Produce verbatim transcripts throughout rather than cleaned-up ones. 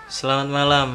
Selamat malam.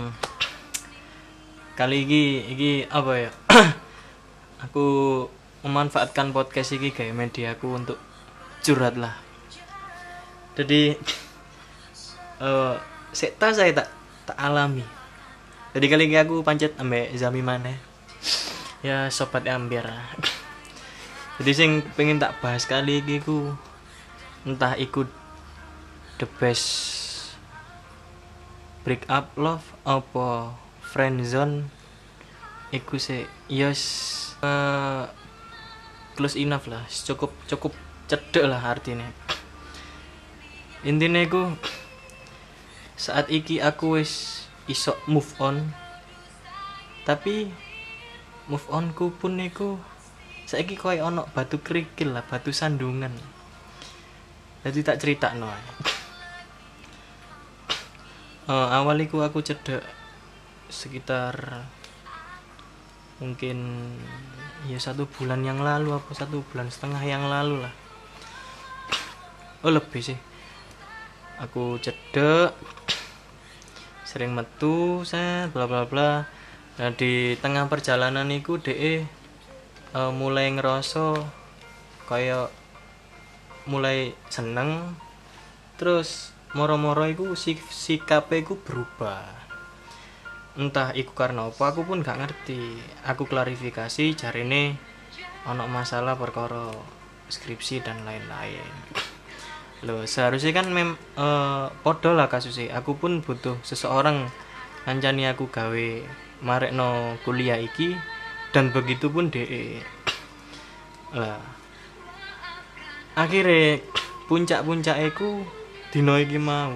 Kali ini iki apa ya? Aku memanfaatkan podcast ini kayak media aku untuk curhat lah. Jadi eh sekta saya tak tak alami. Jadi kali ini aku pancet ambek Zami maneh. Ya sobat ambiar. Jadi sing pengen tak bahas kali ini ku entah ikut the best break up love apa friend zone iku sih yes uh, close enough lah, cukup cukup cedek lah artinya. Intinya iku saat iki aku wis iso move on, tapi move on ku pun iku saiki koyo ono batu kerikil lah, batu sandungan. Jadi tak cerita no. Uh, awal iku aku cedek sekitar mungkin ya satu bulan yang lalu apa satu bulan setengah yang lalu lah. Oh lebih sih. Aku cedek, sering metu, set, bla bla bla. Nah di tengah perjalanan iku de uh, mulai ngerasa kayak mulai seneng, terus moro-moro iku sikape iku berubah. Entah iku karena apa aku pun gak ngerti. Aku klarifikasi jarine ono masalah perkara skripsi dan lain-lain. Loh, seharusnya kan mem uh, podo lah kasusnya. Aku pun butuh seseorang ngancani aku gawe marekno kuliah iki, dan begitu pun de. Lah. Akhirnya puncak-puncak iku dino iki mau.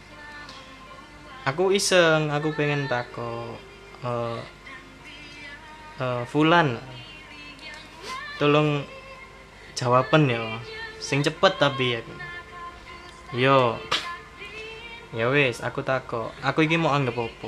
Aku iseng, aku pengen tako uh, uh, Fulan, tolong jawaban ya, sing cepet tapi ya. Yo, ya wes, aku tako. Aku iki mau anggap apa?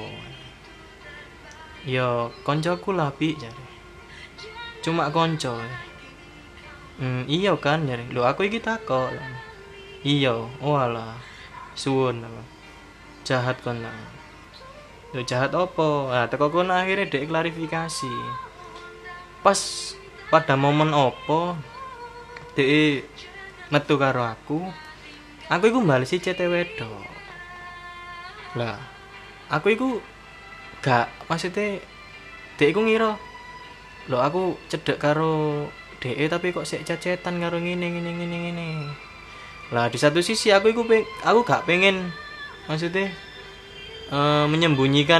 Yo, koncoku lah pi jare. Cuma konco. Hmm, iya kan jare. Lho aku iki tako. Iya, walah, suwun jahat kon lah. Lho jahat opo? Nah, teko kono akhirnya dek klarifikasi. Pas pada momen opo dek metu karo aku, aku iku mbalesi chat wedok. Lah, aku iku gak maksudnya dek iku ngira lho aku cedek karo dek tapi kok sik chat-chatan karo ngene ngene ngene ngene. Lah di satu sisi aku iku peng, aku gak pengen maksudnya uh, menyembunyikan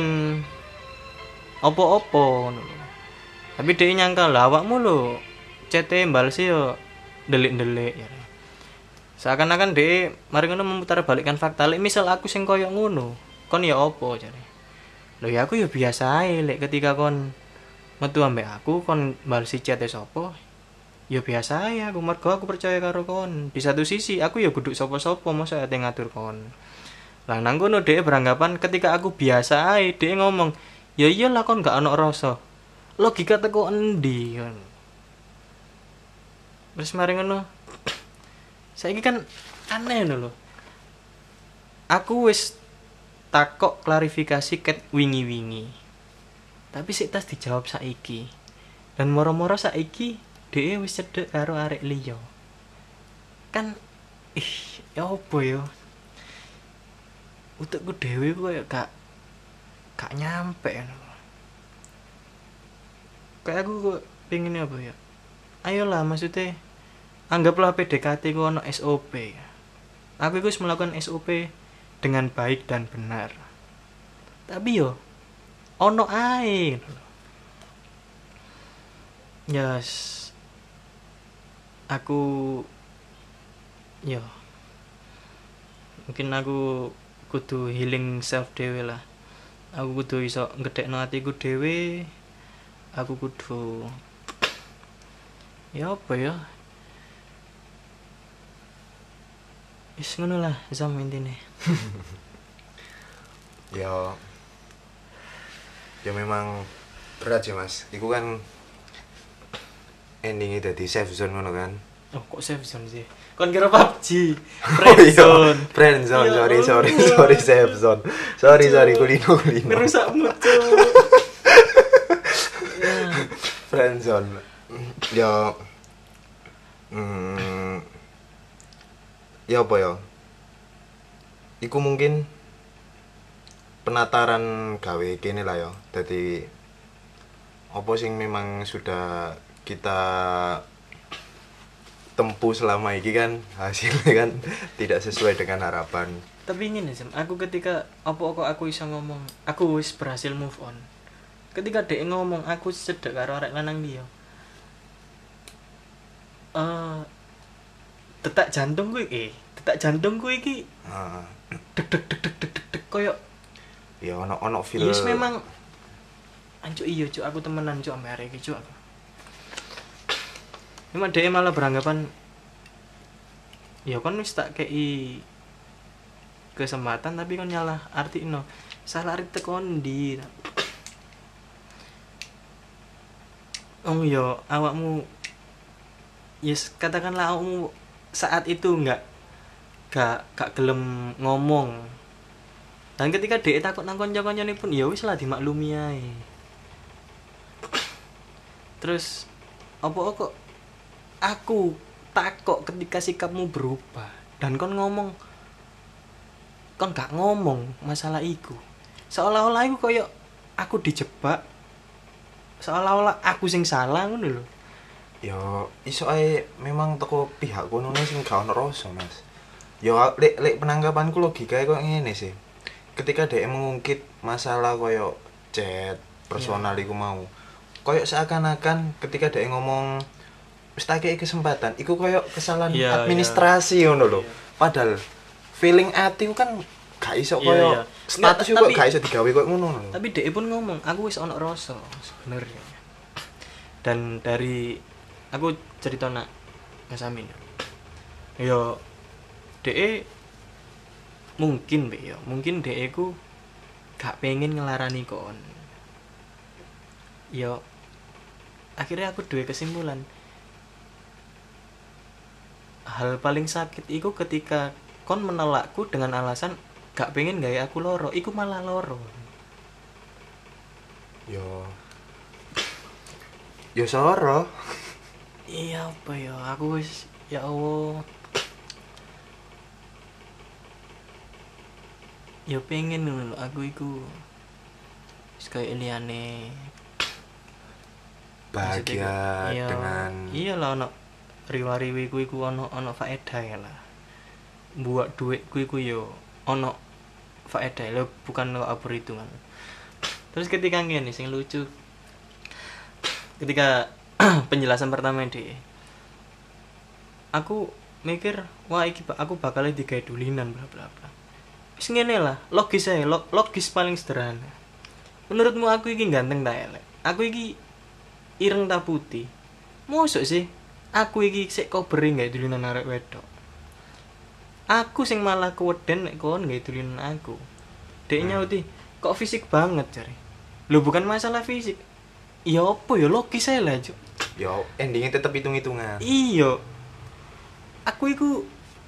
opo-opo ngono. Tapi dia nyangka lah awakmu lho cete mbalesi yo delik-delik ya. Seakan-akan dia mari ngono memutar balikkan fakta. Lek misal aku sing koyo ngono, kon ya opo jare. Lho ya aku ya biasa ae lek ketika kon metu ambek aku kon mbalesi cete sapa. Ya biasa ya, aku mergo aku percaya karo kon. Di satu sisi aku ya kudu sapa-sapa masa ate ngatur kon. Lah nang kono dhek beranggapan ketika aku biasa ae, dhek ngomong, "Ya iyalah kon gak ono rasa." Logika teko endi kon. Terus mari ngono. Saiki kan aneh ngono lho. Aku wis takok klarifikasi ket wingi-wingi. Tapi sik tas dijawab saiki. Dan moro-moro saiki dhek wis cedhek karo arek liya. Kan ih, ya opo yo? Utekku dhewe koyo gak gak nyampe ngono. Kayak aku kok pengen apa ya? Ayolah maksudnya anggaplah P D K T ku ono S O P. Aku iku wis melakukan S O P dengan baik dan benar. Tapi yo ono ae ngono. Yes. Aku yo mungkin aku kudu healing self dhewe lah. Aku kudu iso ngedekno atiku dhewe. Aku kudu ya apa ya? Wis ngono lah zam intine. Ya ya memang berat sih Mas. Iku kan endingnya dadi safe zone ngono kan. Oh, kok save zone sih? Kon kira P U B G. Oh Friend iya, zone. friend zone, Ya sorry, sorry, Allah. sorry, safe zone. Sorry, Cuk. sorry, kulino, kulino. Ngerusak mood, Cuk. Ya. Friend zone. Ya, hmm, ya apa ya? Iku mungkin penataran gawe kene lah ya. Dadi apa sing memang sudah kita tempuh selama ini kan hasilnya kan tidak sesuai dengan harapan. Tapi ingin ya, aku ketika apa kok aku bisa ngomong, aku wis berhasil move on. Ketika dia ngomong aku cedek karo arek lanang dia. Eh detak jantungku iki, detak jantungku iki Heeh. deg deg deg deg deg deg deg koyo Ya ono ono feel. yes memang anjuk iya cuk aku temenan cuk ambek arek iki cuk aku. Memang dia malah beranggapan ya kon wis tak kei kesempatan tapi kon nyalah arti no salah arti tekon di oh yo awakmu yes katakanlah awakmu saat itu enggak gak gak gelem ngomong dan ketika dia takut nang kanca-kancane pun ya wis lah dimaklumi ae terus apa kok aku takok ketika sikapmu berubah dan kon ngomong kon gak ngomong masalah iku seolah-olah iku koyo aku dijebak seolah-olah aku sing salah ngono lho Ya iso ae memang teko pihak kono sing gak ono rasa Mas. Ya lek lek penanggapanku logikae kok ngene sih. Ketika dhek mengungkit masalah koyo chat personal iku mau koyo seakan-akan ketika dhek ngomong wis tak kei kesempatan iku koyo kesalahan Iya, administrasi ngono lho. Iya. Padahal feeling ati ku kan gak iso Iya, koyo iya. status Nggak, kok tapi- gak iso digawe koyo ngono lho. tapi dia pun ngomong aku wis ono rasa sebenarnya dan dari aku cerita nak Mas Amin yo dia mungkin be yo mungkin dia ku gak pengen ngelarani kon yo akhirnya aku duwe kesimpulan hal paling sakit iku ketika kon menolakku dengan alasan gak pengen gawe aku loro iku malah loro Yo Yo soro. iya apa ya aku wis ya Allah ya pengen lho aku iku wis kaya liyane Bahagia Iya, dengan iya lah ono riwa-riwi ku iku ono ono faedah ya lah buat duit ku iku yo ono faedah lho bukan lo abur hitungan terus ketika ngene sing lucu ketika penjelasan pertama di aku mikir wah iki aku bakal digawe dulinan bla bla bla wis ngene lah logis ae lo- logis paling sederhana menurutmu aku iki ganteng ta elek aku iki ireng ta putih mosok sih aku iki sik kobering gawe dulinan arek wedok aku sing malah keweden nek kon gawe dulinan aku dek Hmm. nyauti kok fisik banget jare lho bukan masalah fisik iya apa ya logis ae lah Cuk. yo endingnya tetap hitung-hitungan. Iya. Aku iku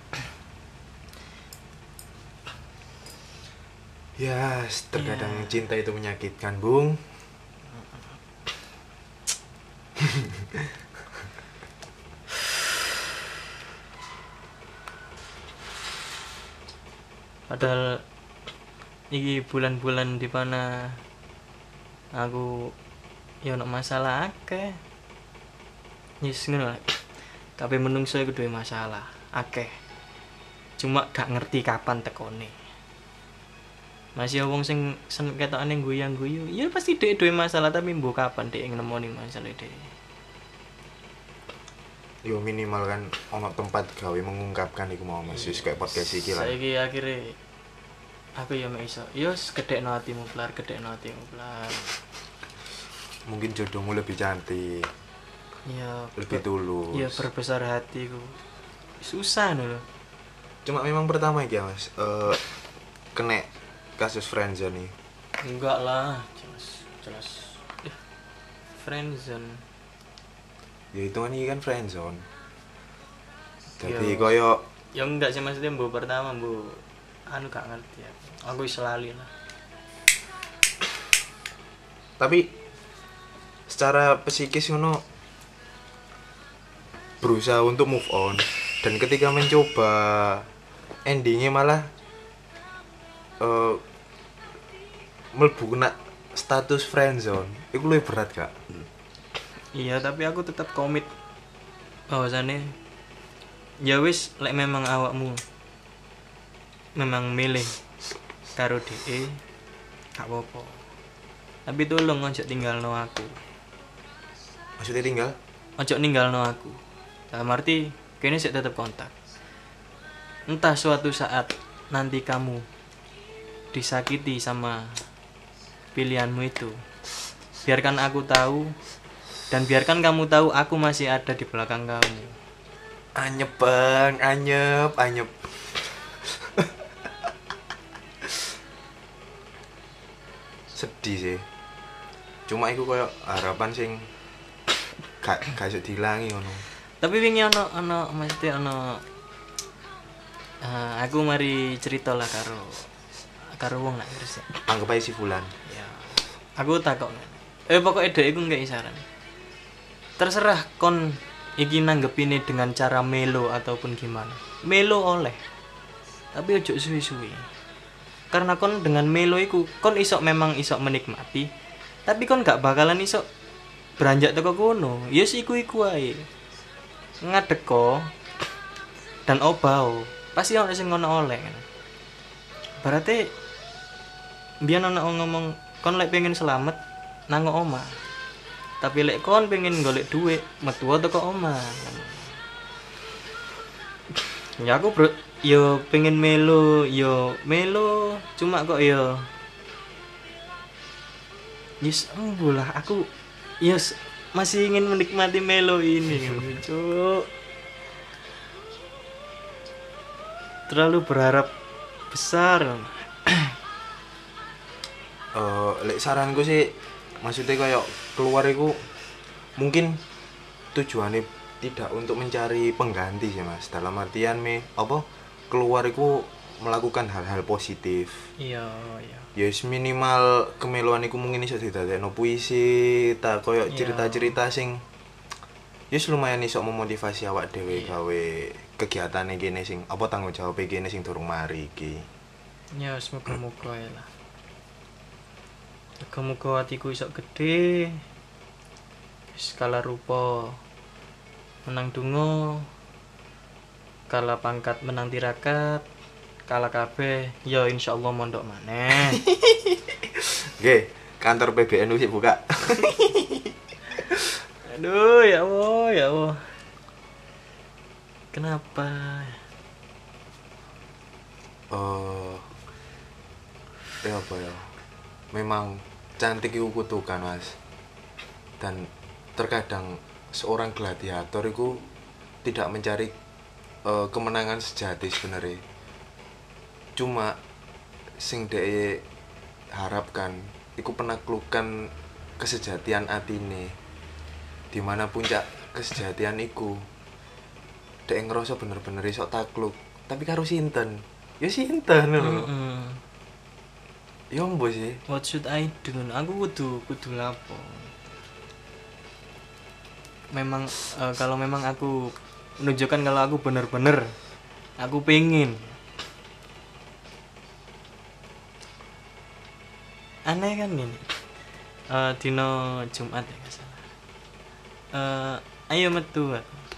Ya, terkadang Iya. cinta itu menyakitkan, Bung. padahal iki bulan-bulan di mana aku ya ono masalah akeh. Yes ngono lah. Kabeh menungso iku duwe masalah akeh. Cuma gak ngerti kapan tekone. Masih wong sing sen ketokane guyang-guyu, ya pasti dhek duwe masalah tapi mbok kapan dhek nemoni masalah dhek. Yo minimal kan ono tempat gawe mengungkapkan iku mau Mas, wis kayak podcast iki lah. Saiki akhire aku ya mek iso. Yo gedhekno atimu plar, gedhekno atimu plar. Mungkin jodohmu lebih cantik, Ya lebih ber- tulus. ya berbesar hatiku. Susah lho. Cuma memang pertama iki ya, Mas. Eh kena kasus friendzone nih. Enggak lah, jelas jelas. Eh, friendzone. Ya itu kan iki kan friendzone. Jadi Yo. koyo Ya enggak sih maksudnya bu pertama bu anu gak ngerti ya. Aku wis lali lah. tapi secara psikis ngono berusaha untuk move on dan ketika mencoba endingnya malah uh, mlebu kena status friendzone itu lebih berat gak? Iya, tapi aku tetap komit bahwasannya ya wis lek memang awakmu memang milih karo D E gak apa-apa. Tapi tolong ojo tinggalno aku. Maksudnya tinggal? Ojo ninggalno aku. Dalam arti kene sik tetap kontak. Entah suatu saat nanti kamu disakiti sama pilihanmu itu, biarkan aku tahu dan biarkan kamu tahu aku masih ada di belakang kamu. Anyep bang, anyep, anyep. Sedih sih. Cuma iku koyo harapan sing gak gak iso dilangi ngono. Tapi wingi ono ono mesti ono uh, aku mari cerita lah karo karo wong nak Gresik. Anggap aja si Fulan. Ya. Aku takok. Eh pokoknya dek iku nggae saran. Terserah kon iki nanggepine dengan cara melo ataupun gimana. Melo oleh. Tapi ojo suwi-suwi. Karena kon dengan melo iku kon iso memang iso menikmati. Tapi kon gak bakalan iso beranjak teko kono. Ya yes, iku-iku ae. Ngadeko dan obao pasti ono sing ngono oleh. Berarti biyen ana ngomong kon lek pengen selamat nang omah. Tapi lek kon pengen golek duit metu teko omah. Ya aku bro, yo pengen melo, yo melo cuma kok yo yes, embulah aku yes masih ingin menikmati melo ini, Cuk. Terlalu berharap besar. Uh, lek saranku sih maksudnya kayak keluar iku mungkin tujuannya tidak untuk mencari pengganti sih mas, dalam artian me apa keluar iku melakukan hal-hal positif. Iya, iya. Ya yes, minimal kemeluan iku mungkin iso didadekno puisi, ta koyo cerita-cerita sing yes lumayan iso memotivasi awak dhewe gawe kegiatane kene sing apa tanggung jawab kene sing durung mari iki. Ya semoga-moga ya lah. Semoga hatiku iso gede. Skala rupa menang dungo, kala pangkat menang tirakat, kala kabeh ya insyaallah mondok maneh. Nggih, kantor P B N U sih buka. Aduh ya Allah, ya Allah. Kenapa? Oh. Ya apa ya? Memang cantik itu kutukan mas. Dan terkadang seorang gladiator itu tidak mencari uh, kemenangan sejati sebenarnya. Cuma sing dhek harapkan iku penaklukan kesejatian atine, di mana puncak kesejatian iku dhek ngerasa bener-bener iso takluk, tapi karo sinten? Ya sinten lho. Heeh. Ya mbo sih. What should I do? Aku kudu kudu lapo. Memang uh, kalau memang aku menunjukkan kalau aku bener-bener aku pengen. Aneh kan ini. Uh, dino Jumat ya nggak salah. Uh, ayo metu.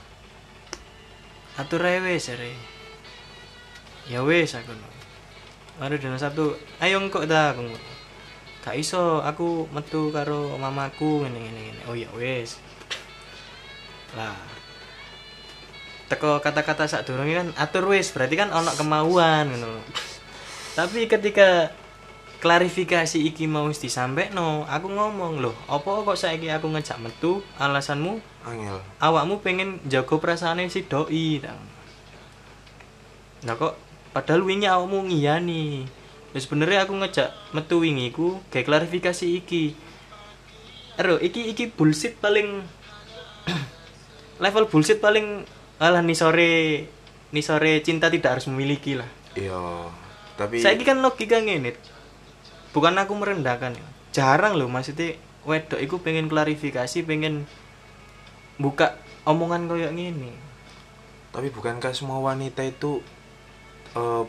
Atur ae wis are. Ya wis aku. Mari dino Sabtu, ayo engko ta aku. Gak iso aku metu karo mamaku ngene ngene ngene. Oh ya wis. Lah. Teko kata-kata sadurunge kan atur wis, berarti kan ono kemauan ngono. Tapi ketika klarifikasi iki mau wis disampekno, aku ngomong, "Loh, apa kok saiki aku ngejak metu? Alasanmu Angel. Awakmu pengen jago perasaane si doi ta." Nah kok padahal wingi awakmu ngiyani. Wis sebenarnya aku ngejak metu wingi ku gawe klarifikasi iki. Ero, iki iki bullshit paling level bullshit paling alah nih sore nih sore cinta tidak harus memiliki lah. Iya, tapi Saiki kan logika ngene. Bukan aku merendahkan ya. Jarang loh maksudnya wedok iku pengen klarifikasi, pengen buka omongan koyo ngene. tapi bukankah semua wanita itu eh,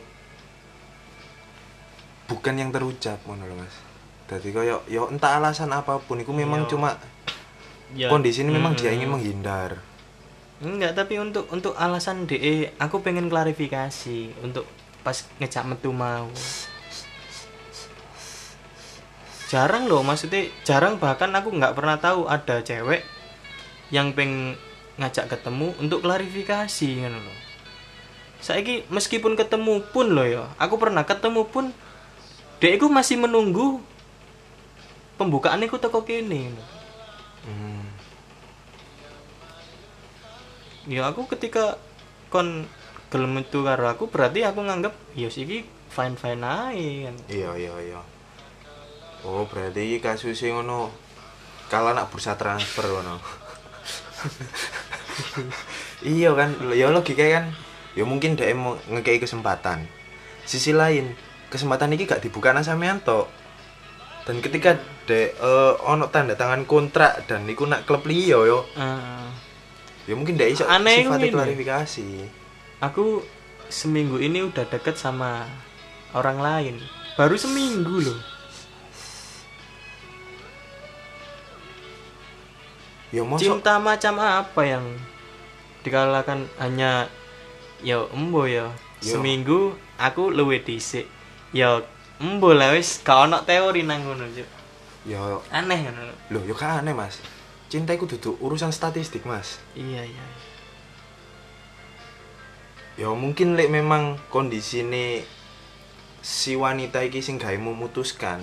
bukan yang terucap ngono lho Mas. Dadi koyo yo entah alasan apapun iku memang Iya. cuma Ya. kondisi ini memang Mm-mm. dia ingin menghindar. Enggak, tapi untuk untuk alasan D E aku pengen klarifikasi untuk pas ngejak metu mau. Jarang loh maksudnya jarang, bahkan aku nggak pernah tahu ada cewek yang pengen ngajak ketemu untuk klarifikasi kan loh. Saiki meskipun ketemu pun loh ya, aku pernah ketemu pun D E ku masih menunggu pembukaan iku teko kene. Hmm. Ya aku ketika kon gelem metu karo aku berarti aku nganggep ya iki fine fine ae kan. Iya iya iya. Oh, berarti iki kasusé ngono. Kala nak bursa transfer ngono. Iya kan, ya logika kan. Ya mungkin dhek mau ngekei kesempatan. Sisi lain, kesempatan iki gak dibuka nang sampean tok. Dan ketika dek eh, ono tanda tangan kontrak dan iku nak klub liya yo, Ah, ya mungkin dek iso Aneh sifatnya ngene. klarifikasi. aku seminggu ini udah deket sama orang lain. Baru seminggu loh. Ya mosok Cinta macam apa yang dikalahkan hanya ya embo ya. Yo. Seminggu aku luwih dhisik. Ya embo lah wis gak ono teori nang ngono, Cuk. ya Aneh ngono. lho yo kan aneh Mas. Cinta iku duduk urusan statistik Mas. Iya, iya. Ya mungkin lek memang kondisi ini si wanita iki sing gawe memutuskan.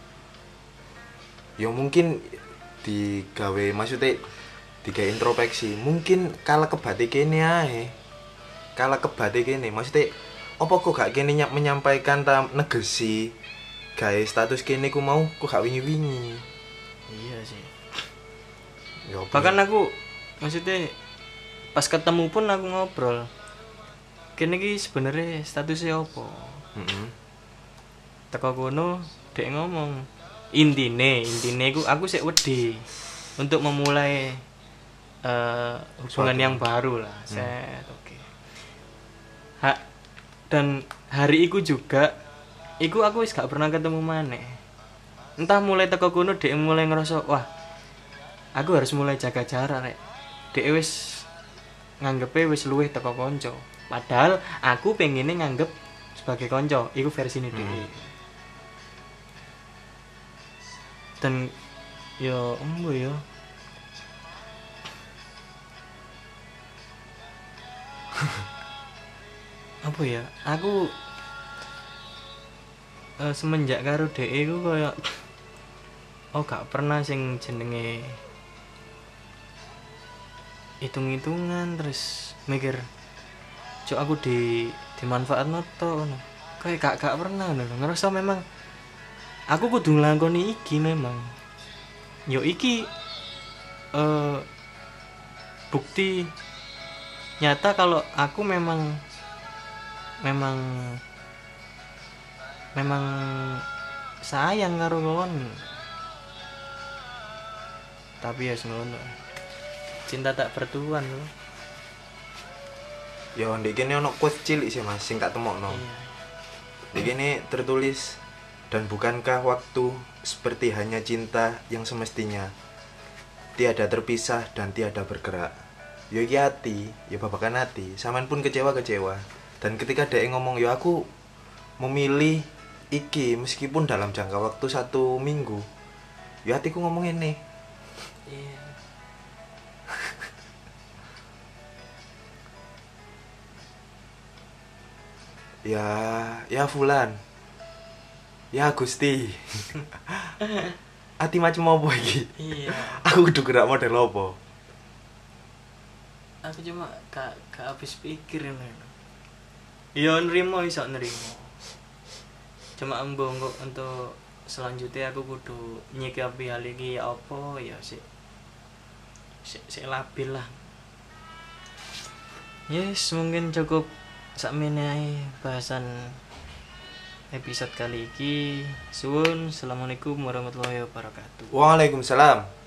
Ya mungkin digawe maksudnya digawe introspeksi. Mungkin kala kebate kene ae. Kala kebate kene maksudnya apa kok gak kene nyap menyampaikan ta negesi gawe status kene ku mau kok gak wingi-wingi. Iya sih. Ya apa Bahkan ya? aku maksudnya pas ketemu pun aku ngobrol. Kene iki sebenarnya statusnya apa? Heeh. Teko kono dek ngomong intine intine aku aku sik wedi untuk memulai eh, hubungan Suatu. yang baru lah. Set, oke. Ha, dan hari iku juga iku aku wis gak pernah ketemu maneh. Entah mulai teko kono dek mulai ngerasa wah aku harus mulai jaga jarak rek. Dek wis nganggepe wis luwih teko konco. Padahal aku pengennya nganggep sebagai konco, iku versine Hmm. dhewe. Dan yo embo yo. Apa ya? Aku eh, semenjak karo D E ku koyo oh gak pernah sing jenenge hitung-hitungan terus mikir cok aku di dimanfaatno to ngono. Kayak gak gak pernah ngono. Ngerasa memang aku kudu nglakoni iki memang. Yo iki eh bukti nyata kalau aku memang memang memang sayang karo kon. Tapi ya ngono. Cinta tak bertuan loh. Ya ndek kene ono quote cilik sih Mas sing tak temokno. Iya. Di sini tertulis, dan bukankah waktu seperti hanya cinta yang semestinya tiada terpisah dan tiada bergerak. Yo iki hati, ya babakan hati, sampean pun kecewa-kecewa. Dan ketika dia ngomong, yo aku memilih iki meskipun dalam jangka waktu satu minggu. Yo hatiku ngomong ini. Iya. Ya, ya Fulan. Ya Gusti. Ati macam apa iki? Iya. Aku kudu gerak model apa? Aku cuma gak gak habis pikir ngono. Ya nrimo iso nrimo. Cuma embo kok untuk selanjutnya aku kudu nyikapi hal iki ya apa ya sik sik sik labil lah. Yes, mungkin cukup sakmene ae bahasan episode kali iki. Suwun, assalamualaikum warahmatullahi wabarakatuh. Waalaikumsalam.